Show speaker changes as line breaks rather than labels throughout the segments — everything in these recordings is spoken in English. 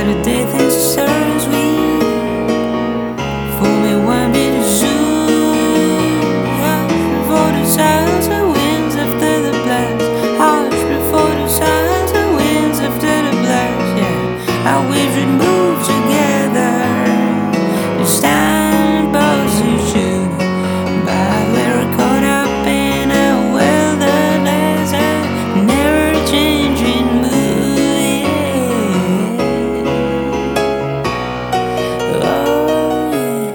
Saturday things are sweet. Fool me one bit of zoo. Before the sounds of winds after the blast. Hush before the sounds of winds after the blast. Yeah, I wish we'd move together. This time position, but we're caught up in a wilderness, a never-changing mood. Yeah. Oh yeah.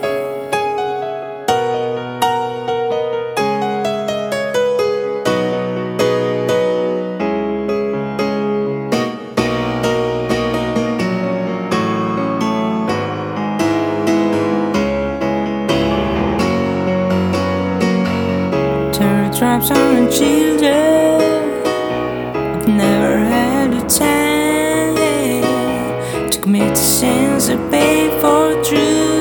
Teardrops on children. I've never had the time to commit the sins I paid for truth.